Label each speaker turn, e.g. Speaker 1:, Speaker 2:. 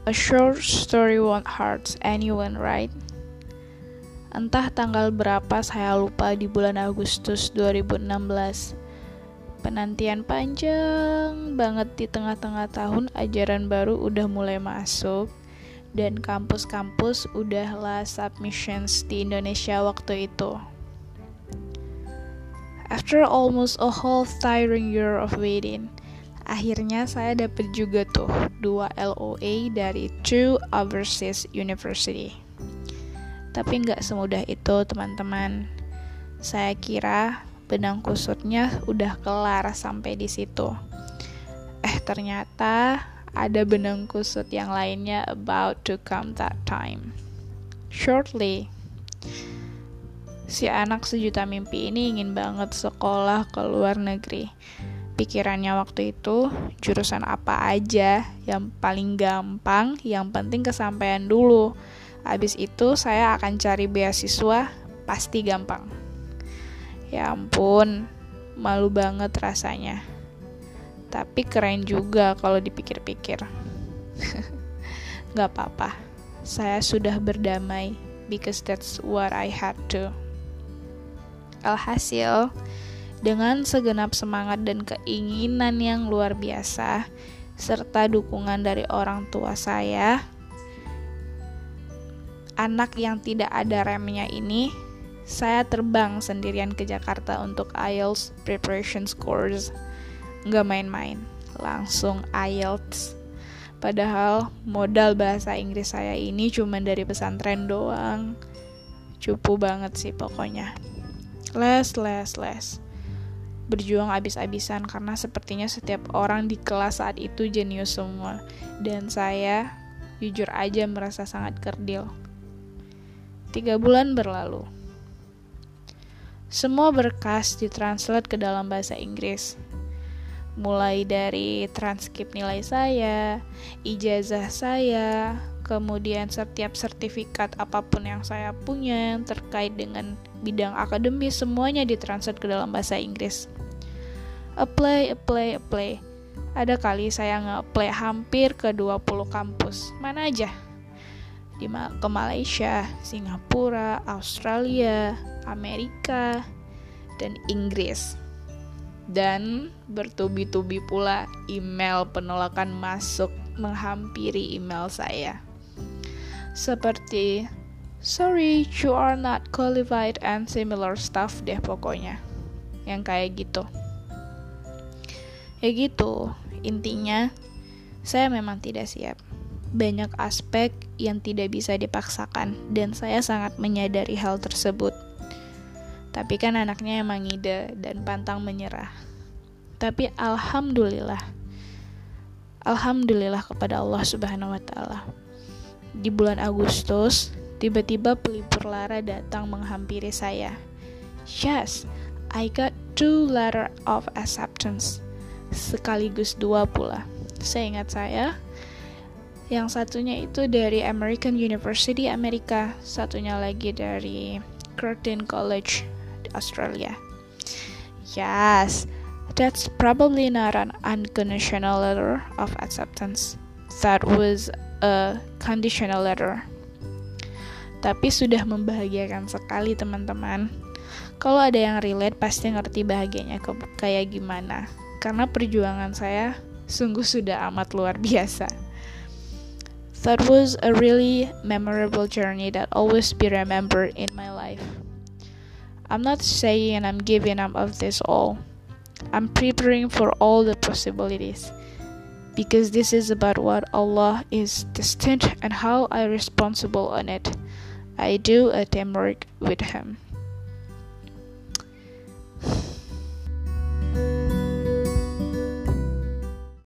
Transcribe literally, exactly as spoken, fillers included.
Speaker 1: A short story won't hurt anyone, right? Entah tanggal berapa saya lupa di bulan Agustus dua ribu enam belas. Penantian panjang banget di tengah-tengah tahun ajaran baru udah mulai masuk dan kampus-kampus udahlah submissions di Indonesia waktu itu. After almost a whole tiring year of waiting, akhirnya saya dapat juga tuh dua L O A dari two overseas university. Tapi nggak semudah itu teman-teman. Saya kira benang kusutnya udah kelar sampai di situ. Eh ternyata ada benang kusut yang lainnya about to come that time. Shortly, si anak sejuta mimpi ini ingin banget sekolah ke luar negeri. Pikirannya waktu itu jurusan apa aja yang paling gampang, yang penting kesampaian dulu. Abis itu saya akan cari beasiswa, pasti gampang. Ya ampun, malu banget rasanya. Tapi keren juga kalau dipikir-pikir. Gak apa-apa, saya sudah berdamai because that's what I had to. Alhasil, dengan segenap semangat dan keinginan yang luar biasa, serta dukungan dari orang tua saya, anak yang tidak ada remnya ini, saya terbang sendirian ke Jakarta untuk I E L T S preparation course. Nggak main-main, langsung I E L T S. Padahal modal bahasa Inggris saya ini cuma dari pesantren doang. Cupu banget sih pokoknya. Les, les, les. Berjuang abis-abisan karena sepertinya setiap orang di kelas saat itu jenius semua. Dan saya jujur aja merasa sangat kerdil. Tiga bulan berlalu. Semua berkas ditranslate ke dalam bahasa Inggris. Mulai dari transkrip nilai saya, ijazah saya, kemudian setiap sertifikat apapun yang saya punya terkait dengan bidang akademis, semuanya ditranslate ke dalam bahasa Inggris. Apply, apply, apply. Ada kali saya nge-apply hampir ke dua puluh kampus. Mana aja? Di ke Malaysia, Singapura, Australia, Amerika, dan Inggris. Dan bertubi-tubi pula email penolakan masuk menghampiri email saya. Seperti, sorry, you are not qualified and similar stuff deh pokoknya. Yang kayak gitu. Ya gitu, intinya saya memang tidak siap. Banyak aspek yang tidak bisa dipaksakan dan saya sangat menyadari hal tersebut. Tapi kan anaknya emang ide dan pantang menyerah. Tapi alhamdulillah, alhamdulillah kepada Allah Subhanahu wa Ta'ala. Di bulan Agustus, tiba-tiba pelipur lara datang menghampiri saya. Yes, I got two letter of acceptance, sekaligus dua pula. Seingat saya, yang satunya itu dari American University Amerika, satunya lagi dari Curtin College di Australia. Yes, that's probably not an unconditional letter of acceptance. That was a conditional letter. Tapi sudah membahagiakan sekali teman-teman. Kalau ada yang relate pasti ngerti bahagianya ke- kayak gimana. Karena perjuangan saya sungguh sudah amat luar biasa. That was a really memorable journey that always be remembered in my life. I'm not saying I'm giving up of this all. I'm preparing for all the possibilities. Because this is about what Allah is destined and how I responsible on it. I do a teamwork with Him.